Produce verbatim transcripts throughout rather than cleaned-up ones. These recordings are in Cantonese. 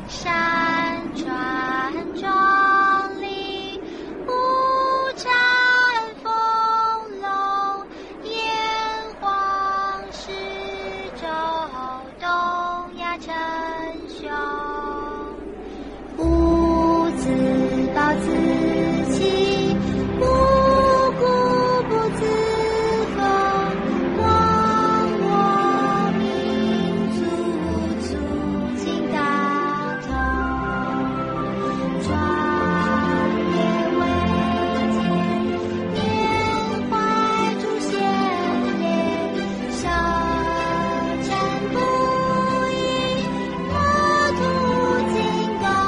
山川壮丽，五产丰隆，炎黄始周，东亚称雄。吾自暴自弃，无故不自封。光我民族，促进大同，壮烈伟健，缅怀祖先烈，舌战不已，国土精高。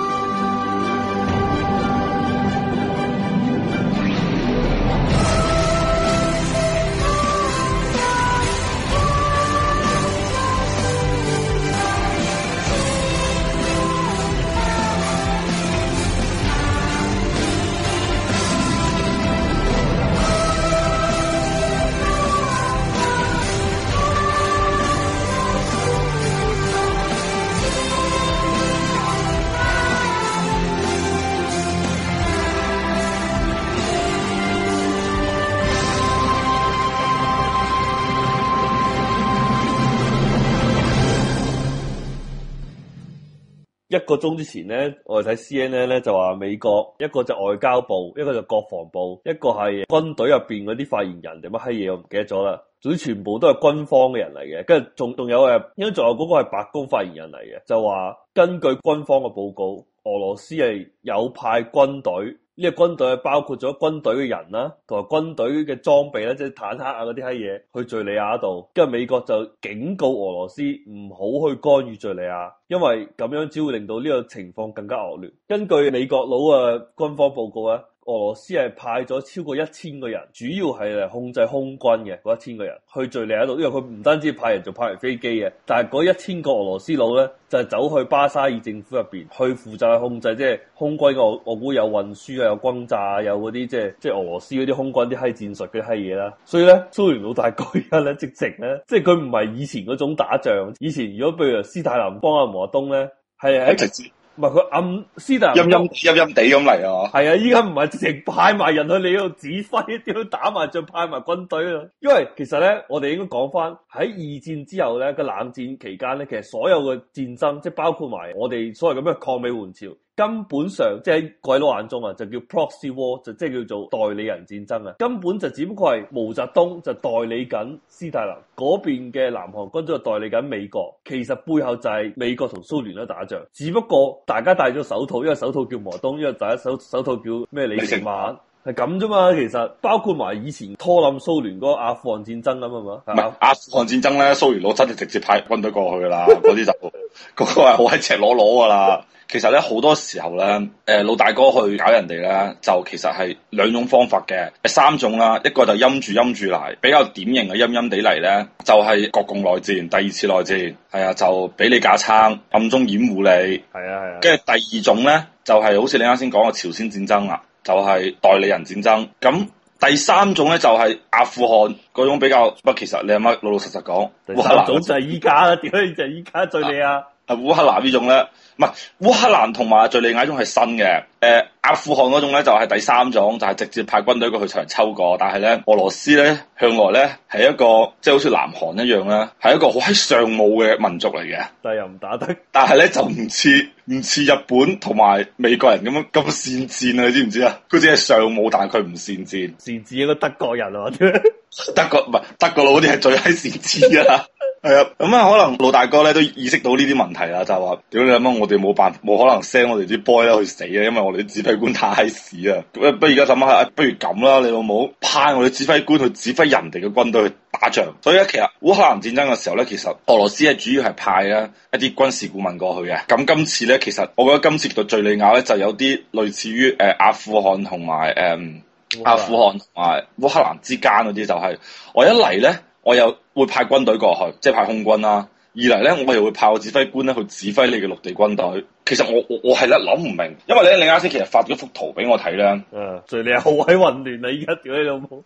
一個鐘之前咧，我哋睇 C N N 咧就話美國一個就外交部，一個就國防部，一個係軍隊入邊嗰啲發言人定乜閪嘢，我唔記得咗啦。總之全部都係軍方嘅人嚟嘅，跟住仲仲有誒，應該仲有嗰個係白宮發言人嚟嘅，就話根據軍方嘅報告，俄羅斯係有派軍隊。呢個軍隊係包括咗軍隊嘅人啦，同埋軍隊嘅裝備啦，即係坦克啊嗰啲閪嘢去敘利亞度。跟住美國就警告俄羅斯唔好去干預敘利亞，因為咁樣只會令到呢個情況更加惡劣。根據美國佬嘅軍方報告咧，俄羅斯係派咗超過一千個人，主要係嚟控制空軍嘅嗰一千個人去敘利亞度，因為佢唔單止派人，仲派埋飛機嘅。但係嗰一千個俄羅斯佬咧，就係走去巴沙爾政府入邊去負責去控制，即係空軍嘅。我我估有運輸啊，有轟炸啊，有嗰啲即係即係俄羅斯嗰啲空軍啲閪戰術嘅閪嘢啦。所以咧，蘇聯老大哥而家咧直情咧，即係佢唔係以前嗰種打仗。以前如果譬如斯大林幫阿毛澤東咧，係喺直接。唔係佢暗斯大林陰陰陰陰地咁嚟啊！ 係啊，依家唔係直情派埋人去你嗰度指揮，點樣打埋仗派埋軍隊啊！因為其實咧，我哋應該講翻喺二戰之後咧，個冷戰期間咧，其實所有嘅戰爭，即係包括埋我哋所謂咁嘅抗美援朝，根本上即係喺鬼佬眼中啊，就叫 proxy war，就即係叫做代理人戰爭啊！根本就只不過係毛澤東就代理緊斯大林嗰邊嘅南韓軍隊就代理緊美國，其實背後就係美國同蘇聯喺打仗，只不過。大家戴咗手套，因為手套叫毛澤東，因為大家手手套叫咩李承晚，係咁啫嘛。其實包括埋以前拖冧蘇聯嗰個阿富汗戰爭咁啊嘛。 唔係阿富汗戰爭咧，蘇聯佬真係直接派軍隊過去噶啦，嗰啲就嗰個係好喺赤裸裸噶啦。其實咧好多時候咧，誒、呃、老大哥去搞人哋咧，就其實係兩種方法嘅，三種啦。一個就陰住陰住嚟，比較典型嘅陰陰地嚟咧，就係、是、國共內戰、第二次內戰，係啊，就俾你架撐，暗中掩護你，係啊係啊。跟住第二種咧，就係、是、好似你啱先講嘅朝鮮戰爭啦，就係、是、代理人戰爭。咁第三種咧就係、是、阿富汗嗰種比較，不過其實你阿媽老老實實講， 烏克蘭總就係依家啦，點解就係依家敘利亞？ 啊，烏克蘭呢種咧，唔係烏克蘭同埋敘利亞呢種係新嘅，誒、呃、阿富汗嗰種咧就係、是、第三種，就係、是、直接派軍隊過去場抽過，但係咧俄羅斯咧向來咧係一個即係好似南韓一樣啦，係一個好閪尚武嘅民族嚟嘅， 但係又唔打得， 但係咧就唔似唔似日本同埋美國人咁樣咁善戰啊，你知唔知啊？佢只係尚武，但係佢唔善戰， 善戰一個德國人啊， 德國唔係德國佬嗰啲係最閪善戰啊！係啊，咁啊，可能老大哥咧都意識到呢啲問題啦，就係話，屌你諗乜，我哋冇辦法，冇可能 send 我哋啲 boy 咧去死啊，因為我哋啲指揮官太屎啊！不如而家諗下，不如咁啦，你老母派我哋指揮官去指揮人哋嘅軍隊去打仗。所以咧，其實烏克蘭戰爭嘅時候咧，其實俄羅斯係主要係派啊一啲軍事顧問過去嘅。咁今次咧，其實我覺得今次對敘利亞咧就有啲類似於誒、呃、阿富汗同埋誒阿富汗同埋烏克蘭之間嗰啲，就係、是、我一嚟咧。我又會派軍隊過去，即係派空軍啦。二嚟咧，我又會派我指揮官咧去指揮你嘅陸地軍隊。其實我我我係咧諗唔明，因為咧你啱先其實發咗幅圖俾我睇咧。 嗯，敘利亞好鬼混亂啊！依家屌你老母，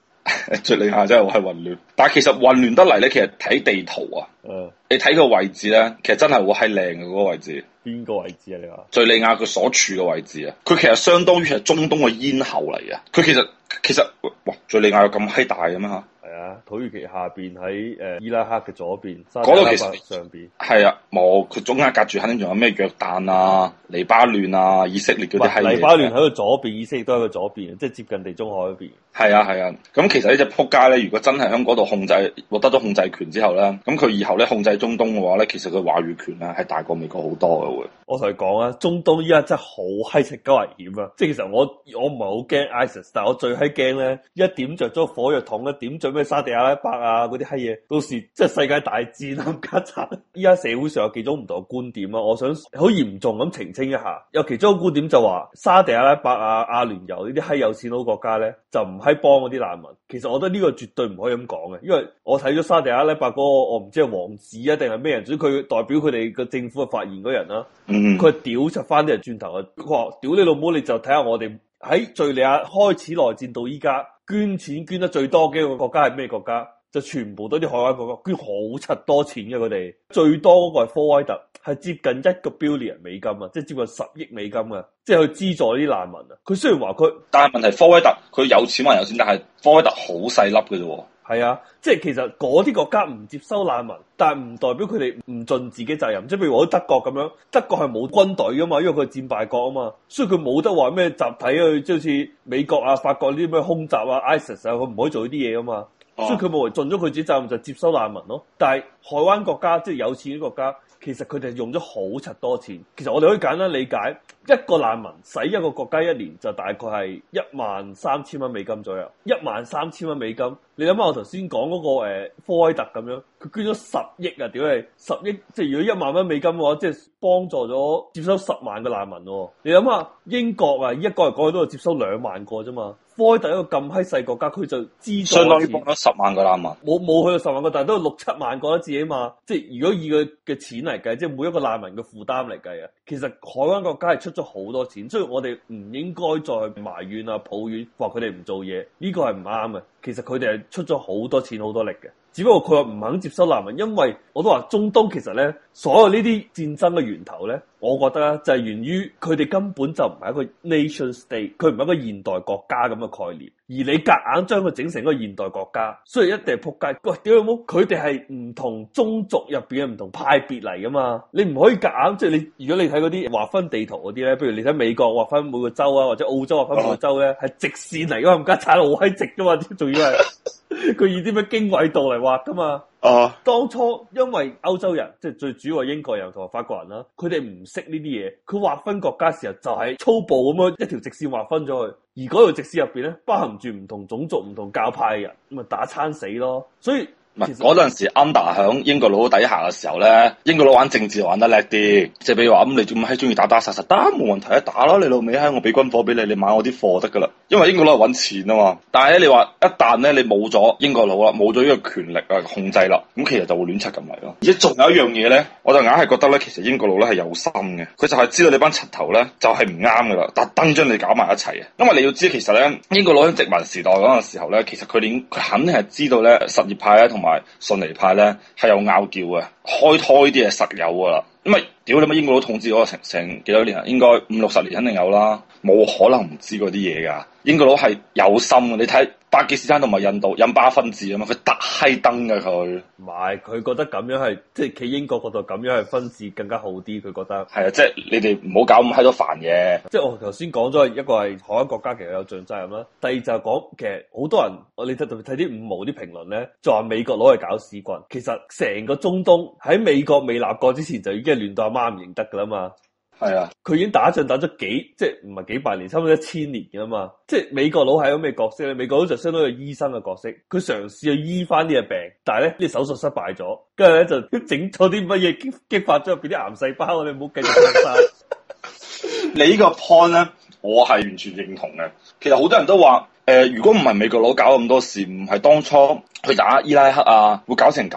敘利亞真係係混亂，但係其實混亂得嚟咧，其實睇地圖啊， 嗯， 你睇個位置咧，其實真係好閪靚嘅嗰個位置。 邊個位置啊？你話敘利亞佢所處嘅位置啊，佢其實相當於係中東嘅咽喉嚟嘅。佢其實其實哇，敘利亞有咁閪大嘅咩嚇？ 係啊，土耳其下邊喺誒伊拉克嘅左邊， 嗰度其實上邊係啊，冇佢中間隔住，肯定仲有咩約旦啊、黎巴嫩啊、以色列嗰啲閪嘢。 黎巴嫩喺佢左邊，以色列都喺佢左邊，即係接近地中海嗰邊。 係啊係啊，咁其實呢隻撲街咧，如果真係喺嗰度控制獲得咗控制權之後咧，咁佢以後咧控制中東嘅話咧，其實佢話語權咧係大過美國好多嘅會。 我同你講啊，中東依家真係好閪食鳩危險啊！即係其實我我唔係好驚 ISIS， 但係我最閪驚咧，一點着咗火藥桶咧，點着咩沙地阿拉伯啊嗰啲閪嘢，到時即係世界大戰啊！家產依家社會上有幾種唔同嘅觀點啊，我想好嚴重咁澄清一下。有其中一個觀點就話沙地阿拉伯啊、阿聯酋呢啲閪有錢佬國家咧，就唔閪幫嗰啲難民。其實我覺得呢個絕對唔可以咁講嘅，因為我睇咗沙地阿拉伯嗰個，我唔知係王子啊定係咩人，總之佢代表佢哋個政府嘅發言嗰人啦。佢屌柒翻啲人轉頭啊！佢話屌你老母，你就睇下我哋喺敘利亞開始內戰到依家捐錢捐得最多嘅一個國家係咩國家？就全部都啲海灣國家捐好柒多錢嘅，佢哋最多嗰個係科威特，係接近一個 billion 美金啊，即係接近十億美金啊，即係去資助啲難民啊。佢雖然話佢， 但係問題科威特佢有錢還有錢，但係科威特好細粒嘅啫。 係啊，即係其實嗰啲國家唔接收難民，但係唔代表佢哋唔盡自己責任。即係譬如我德國咁樣，德國係冇軍隊噶嘛，因為佢係戰敗國啊嘛，所以佢冇得話咩集體去，即係好似美國啊、法國呢啲咩空襲啊、ISIS 啊，佢唔可以做呢啲嘢噶嘛。所以佢冇盡咗佢自己責任就接收難民咯。但係海灣國家即係有錢啲國家，其實佢哋用咗好柒多錢。其實我哋可以簡單理解，一個難民使一個國家一年就大概係一萬三千蚊美金左右。一萬三千蚊美金，你諗下我頭先講嗰個誒科威特咁樣，佢捐咗十億啊！屌你，十億即係如果一萬蚊美金嘅話，即係幫助咗接收十萬個難民喎。你諗下英國啊，一個嚟講去都係接收兩萬個啫嘛。科威特一個咁閪細國家，佢就資助相當於幫咗十萬個難民， 冇冇去到十萬個，但係都六七萬個一次啊嘛。即係如果以佢嘅錢嚟計，即係每一個難民嘅負擔嚟計啊，其實海灣國家係出咗好多錢，所以我哋唔應該再去埋怨啊、抱怨話佢哋唔做嘢，呢個係唔啱嘅。其實佢哋係出咗好多錢、好多力嘅。只不過佢話唔肯接收難民，因為我都話中東其實咧，所有呢啲戰爭嘅源頭咧，我覺得咧就係源於佢哋根本就唔係一個 nation state，佢唔係一個現代國家咁嘅概念，而你夾硬將佢整成一個現代國家，所以一定係撲街。喂，屌你冇，佢哋係唔同宗族入邊嘅唔同派別嚟噶嘛，你唔可以夾硬即係你，如果你睇嗰啲劃分地圖嗰啲咧，譬如你睇美國劃分每個州啊，或者澳洲劃分每個州咧，係直線嚟噶嘛，唔加踩到好閪直噶嘛，仲要係。佢以啲咩經緯度嚟畫噶嘛？哦，當初因為歐洲人即係最主要係英國人同埋法國人啦，佢哋唔識呢啲嘢，佢劃分國家時候就係粗暴咁樣一條直線劃分咗佢，而嗰條直線入邊咧包含住唔同種族、唔同教派嘅人，咁咪打餐死咯，所以。 唔係嗰陣時 under 響英國佬底下嘅時候咧，英國佬玩政治玩得叻啲，即係比如話咁，你做乜閪中意打打殺殺，得冇問題啊，打咯，你老味閪，我俾軍火俾你，你買我啲貨得噶啦。因為英國佬係揾錢啊嘛，但係咧你話一旦咧你冇咗英國佬啦，冇咗呢個權力啊控制啦，咁其實就會亂七咁嚟咯。而且仲有一樣嘢咧，我就硬係覺得咧，其實英國佬咧係有心嘅，佢就係知道你班柒頭咧就係唔啱噶啦，特登將你搞埋一齊嘅。因為你要知其實咧，英國佬喺殖民時代嗰陣時候咧，其實佢哋佢肯定係知道咧什葉派咧同埋遜尼派咧係有拗撬嘅，開拖呢啲係實有噶啦。因為屌你乜英國佬統治嗰個成成幾多年啊？應該五六十年肯定有啦，冇可能唔知嗰啲嘢噶。英國佬係有心嘅，你睇巴基斯坦同埋印度印巴分治啊嘛，佢特閪登嘅佢。 唔係，佢覺得咁樣係即係企英國嗰度咁樣係分治更加好啲，佢覺得。 係啊，即係你哋唔好搞咁閪多煩嘢。 即係我頭先講咗一個係海灣國家其實有盡責任啦，第二就係講其實好多人我你睇睇啲五毛啲評論咧，就話美國攞嚟搞屎棍。其實成個中東喺美國未立國之前就已經係亂到阿媽唔認得噶啦嘛。 係啊，佢已經打仗打咗幾，即係唔係幾百年，差唔多一千年嘅嘛。即係美國佬係一個咩角色咧？美國佬就相當於醫生嘅角色，佢嘗試去醫翻呢個病，但係咧呢手術失敗咗，跟住咧就整咗啲乜嘢激激發咗入邊啲癌細胞，你唔好繼續講晒。 你呢個 point 咧，我係完全認同嘅。其實好多人都話，誒、呃，如果唔係美國佬搞咁多事，唔係當初去打伊拉克啊，會搞成咁咩？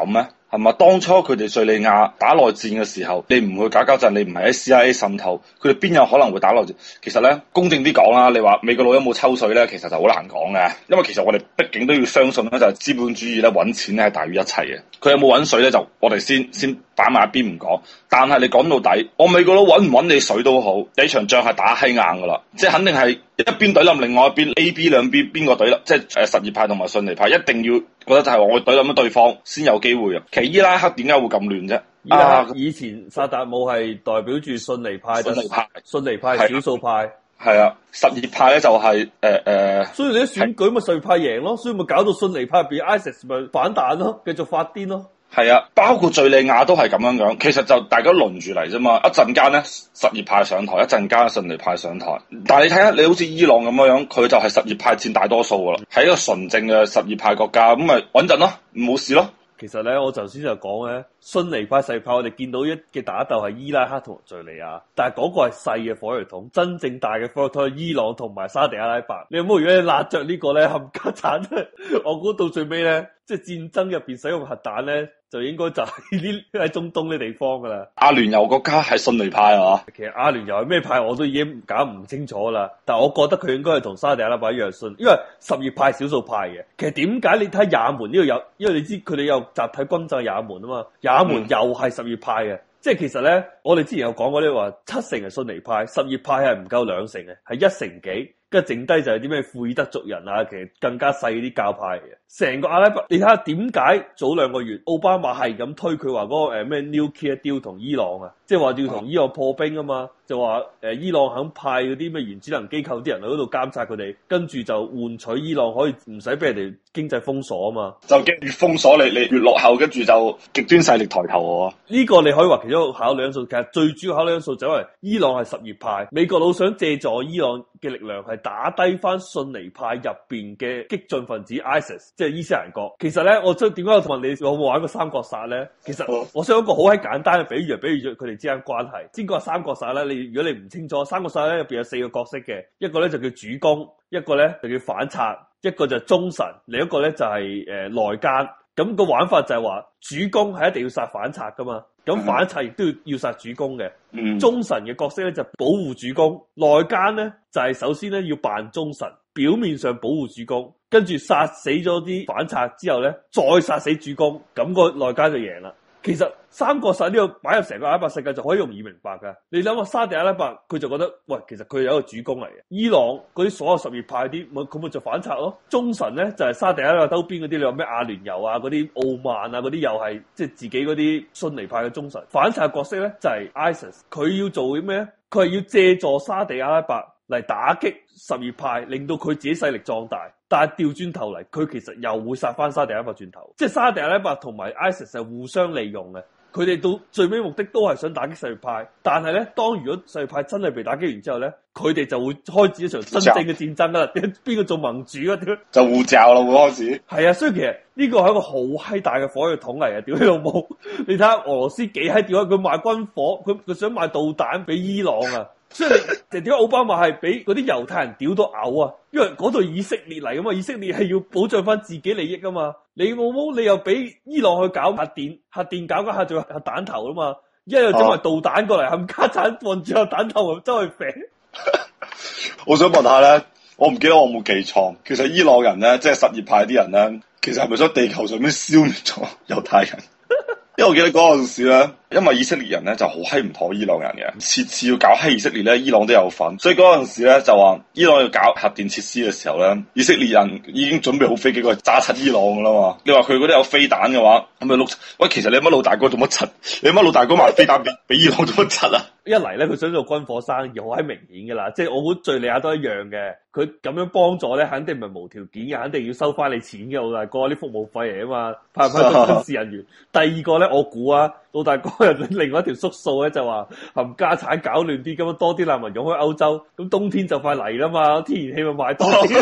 係嘛？當初佢哋敘利亞打內戰嘅時候，你唔去搞搞震，你唔係喺 C I A 滲透，佢哋邊有可能會打內戰？其實咧，公正啲講啦，你話美國佬有冇抽水咧？其實就好難講嘅，因為其實我哋畢竟都要相信咧，就係資本主義咧揾錢咧係大於一切嘅。佢有冇揾水咧？就我哋先先擺埋一邊唔講。但係你講到底，我美國佬揾唔揾你水都好，呢場仗係打閪硬噶啦，即係肯定係一邊懟冧另外一邊 A、B 兩邊邊個懟冧，即係誒什葉派同埋遜尼派，一定要覺得就係話我懟冧咗對方先有機會啊！其實伊拉克點解會咁亂啫？ 伊拉克以前薩達姆係代表住遜尼派， 遜尼派， 遜尼派少數派。 係啊，什葉派咧就係誒誒， 所以你啲選舉咪什葉派贏咯，所以咪搞到遜尼派入邊 ISIS 咪反彈咯，繼續發癲咯。係啊，包括敘利亞都係咁樣樣，其實就大家輪住嚟啫嘛。一陣間咧什葉派上台，一陣間遜尼派上台。但係你睇下，你好似伊朗咁樣樣，佢就係什葉派佔大多數噶啦，係一個純正嘅什葉派國家，咁咪穩陣咯，冇事咯。 其實咧，我頭先就講咧，遜尼派、什葉派，我哋見到一嘅打鬥係伊拉克同敘利亞，但係嗰個係細嘅火藥桶，真正大嘅火藥桶係伊朗同埋沙地阿拉伯。你有冇如果你辣着個呢個咧冚家鏟？我估到最尾咧，即係戰爭入邊使用核彈咧，就應該就係呢喺中東嘅地方噶啦。 阿聯酋國家係遜尼派啊， 其實阿聯酋係咩派我都已經搞唔清楚啦。但係我覺得佢應該係同沙地阿拉伯一樣遜，因為什葉派少數派嘅。其實點解你睇也門呢度有？因為你知佢哋有集體轟炸也門啊嘛，也門又係什葉派嘅。嗯，即係其實咧，我哋之前有講過呢話，七成係遜尼派，什葉派係唔夠兩成嘅，係一成幾。跟住剩低就係啲咩庫爾德族人啊，其實更加細啲教派嘅。成個阿拉伯，你睇下點解早兩個月奧巴馬係咁推佢話嗰個誒咩 nuclear deal 同伊朗啊，即係話要同伊朗破冰啊嘛，就話誒、呃、伊朗肯派嗰啲咩原子能機構啲人去嗰度監察佢哋，跟住就換取伊朗可以唔使俾人哋經濟封鎖啊嘛。 就驚越封鎖你，你越落後，跟住就極端勢力抬頭喎。 呢個你可以話其中一個考慮因素，其實最主要考慮因素就係因為伊朗係什葉派，美國佬想借助伊朗嘅力量係打低翻遜尼派入邊嘅激進分子 ISIS， 即係伊斯蘭國。其實咧，我即係點解我問你有冇玩過三國殺咧？其實我想一個好閪簡單嘅比喻，比喻咗佢哋之間關係。先講三國殺咧，你如果你唔清楚，三國殺咧入邊有四個角色嘅，一個咧就叫主公，一個咧就叫反賊，一個就係忠臣，另一個咧就係誒內奸。咁個玩法就係話，主公係一定要殺反賊噶嘛，咁反賊亦都要要殺主公嘅。 嗯、 忠臣嘅角色咧就保護主公，內奸咧就係首先咧要扮忠臣，表面上保護主公，跟住殺死咗啲反賊之後咧，再殺死主公，咁個內奸就贏啦。其實三國殺呢個擺入成個阿拉伯世界就可以容易明白噶。你諗下沙地阿拉伯佢就覺得，喂，其實佢有一個主公嚟嘅。伊朗嗰啲所有什葉派啲，咪佢咪就反賊咯。忠臣咧就係、是、沙地阿拉伯周邊嗰啲，你話咩阿聯酋啊、嗰啲奧曼啊嗰啲，又係即係自己嗰啲遜尼派嘅忠臣。反賊角色咧就係、是、ISIS， 佢要做啲咩咧？佢係要借助沙地阿拉伯嚟打擊什葉派，令到佢自己勢力壯大。但係調轉頭嚟，佢其實又會殺翻沙地阿拉伯轉頭，即係沙地阿拉伯同埋 ISIS 係互相利用嘅。佢哋到最尾目的都係想打擊什葉派，但係咧，當如果什葉派真係被打擊完之後咧，佢哋就會開始一場真正嘅戰爭啦。邊個做盟主啊？ 就互罩啦，會開始。 係啊，所以其實呢個係一個好閪大嘅火藥桶嚟嘅。屌你老母！你睇下俄羅斯幾閪屌啊！佢賣軍火，佢佢想賣導彈俾伊朗啊！所以你點解奧巴馬係俾嗰啲猶太人屌到嘔啊？因為嗰度以色列嚟噶嘛，以色列係要保障翻自己利益噶嘛。你冇冇你又俾伊朗去搞核電，核電搞嗰下仲有核彈頭啊嘛，一又整埋導彈過嚟，冚家鏟放住核彈頭周去射。 我想問下咧，我唔記得我冇記錯，其實伊朗人咧，即係什葉派啲人咧，其實係咪想地球上面消滅咗猶太人？因為我記得嗰陣時咧，因為以色列人咧就好閪唔妥伊朗人嘅，次次要搞閪以色列咧，伊朗都有份，所以嗰陣時咧就話伊朗要搞核電設施嘅時候咧，以色列人已經準備好飛機過去炸柒伊朗噶啦嘛。你話佢嗰啲有飛彈嘅話，咁咪碌？喂，其實你乜老大哥做乜柒？你乜老大哥賣飛彈俾俾伊朗做乜柒啊？一嚟咧，佢想做軍火生意，好閪明顯噶啦，即係我估敘利亞都一樣嘅。佢咁樣幫助咧，肯定唔係無條件嘅，肯定要收翻你錢嘅，老大哥啲服務費嚟啊嘛，派唔派到軍事人員？第二個咧，我估啊，老大哥又另外一條縮數咧，就話冚家產搞亂啲，咁樣多啲難民湧去歐洲，咁冬天就快嚟啦嘛，天然氣咪賣多啲。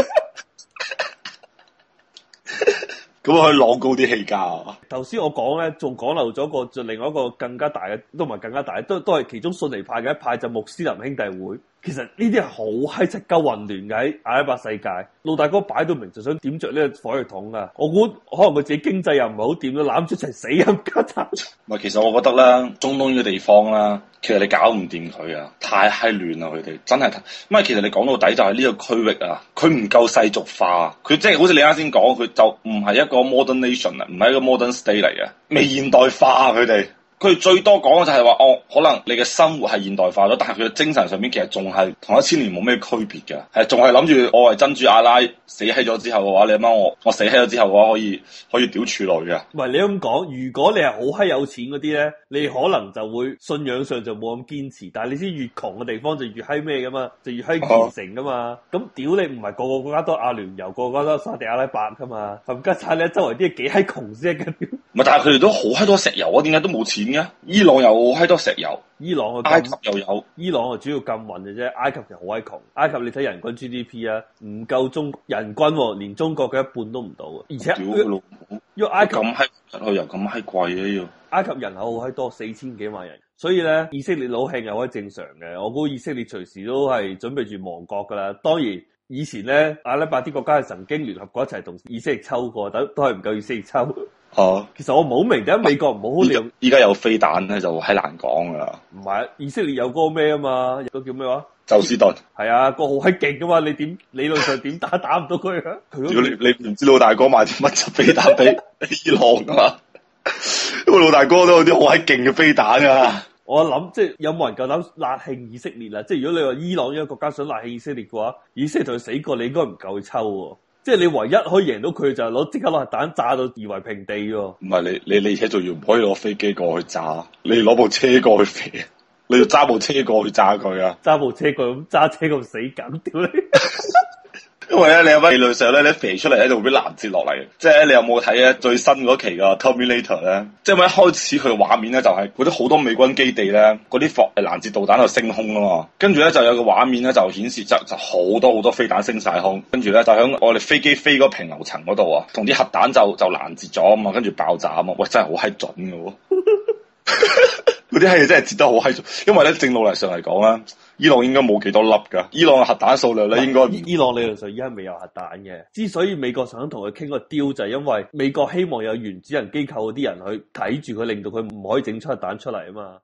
咁可以晾高啲氣價啊！ 頭先我講咧，仲講漏咗個，就另外一個更加大嘅，都唔係更加大，都都係其中遜尼派嘅一派，就穆斯林兄弟會。 其實呢啲係好閪柒鳩混亂嘅喺阿拉伯世界，老大哥擺到明就想點着呢個火藥桶啊！我估可能佢自己經濟又唔係好掂，都攬住一齊死咁家產。 唔係，其實我覺得咧，中東呢個地方啦，其實你搞唔掂佢啊，太閪亂啦佢哋，真係。咁啊，其實你講到底就係呢個區域啊，佢唔夠世俗化，佢即係好似你啱先講，佢就唔係一個 modern nation 啊，唔係一個 modern state 嚟嘅，未現代化佢哋。佢最多講嘅就係話，哦，可能你嘅生活係現代化咗，但係佢嘅精神上面其實仲係同一千年冇咩區別嘅，係仲係諗住我係真主阿拉死喺咗之後嘅話，你阿媽我我死喺咗之後嘅話可以可以屌處女嘅。唔係你咁講，如果你係好閪有錢嗰啲咧，你可能就會信仰上就冇咁堅持，但係你知越窮嘅地方就越閪咩噶嘛，就越閪虔誠噶嘛。咁屌、啊、你唔係個個國家都阿聯酋，個個都沙地阿拉伯噶嘛，冚家鏟你周圍啲幾閪窮先嘅。唔係， 但係佢哋都好閪多石油啊，點解都冇錢？伊朗有好閪多石油， 伊朗埃及又有， 伊朗係主要禁運嘅啫，埃及就好閪窮。埃及你睇人均 G D P 啊，唔夠中人均、哦，連中國嘅一半都唔到啊！而且屌佢老母， 因為埃及咁閪石油咁閪貴嘅要， 埃及人口好閪多，四千幾萬人，所以咧以色列佬興又可以正常嘅。我估以色列隨時都係準備住亡國噶啦。當然以前咧阿拉伯啲國家係曾經聯合過一齊同以色列抽過，都都係唔夠以色列抽。 哦， 其實我唔好明點解美國唔好好利用， 依家有飛彈咧就係難講噶啦。 唔係，以色列有嗰個咩啊嘛，有個叫咩話？ 宙斯盾係啊，個好閪勁噶嘛，你點理論上點打打唔到佢啊？ 如果你你唔知老大哥買啲乜柒飛彈俾伊朗噶嘛？因為老大哥都有啲好閪勁嘅飛彈啊！ 我諗即係有冇人夠膽辣興以色列啊？即係如果你話伊朗呢個國家想辣興以色列嘅話，以色列同佢死過，你應該唔夠佢抽喎。即係你唯一可以贏到佢就係攞即刻攞核彈炸到夷為平地喎。唔係你你你而且仲要唔可以攞飛機過去炸，你攞部車過去飛，你要揸部車過去炸佢啊！ 揸部車過去咁揸車咁死梗，屌你！ 因為咧，你有乜理論上咧，你飛出嚟喺度會攔截落嚟。即係你有冇睇咧最新嗰期嘅 Terminator 咧？即係咪一開始佢嘅畫面咧就係嗰啲好多美軍基地咧，嗰啲防攔截導彈就升空啊嘛。跟住咧就有個畫面咧就顯示就就好多好多飛彈升晒空，跟住咧就喺我哋飛機飛嗰平流層嗰度啊，同啲核彈就就攔截咗啊嘛，跟住爆炸啊嘛。喂，真係好閪準嘅喎！嗰啲閪嘢真係截得好閪準，因為咧正路嚟上嚟講咧。伊朗應該冇幾多粒㗎，伊朗嘅核彈數量咧應該伊伊朗理論上依家未有核彈嘅。之所以美國想同佢傾個 deal 就係因為美國希望有原子能機構嗰啲人去睇住佢，令到佢唔可以整出核彈出嚟啊嘛。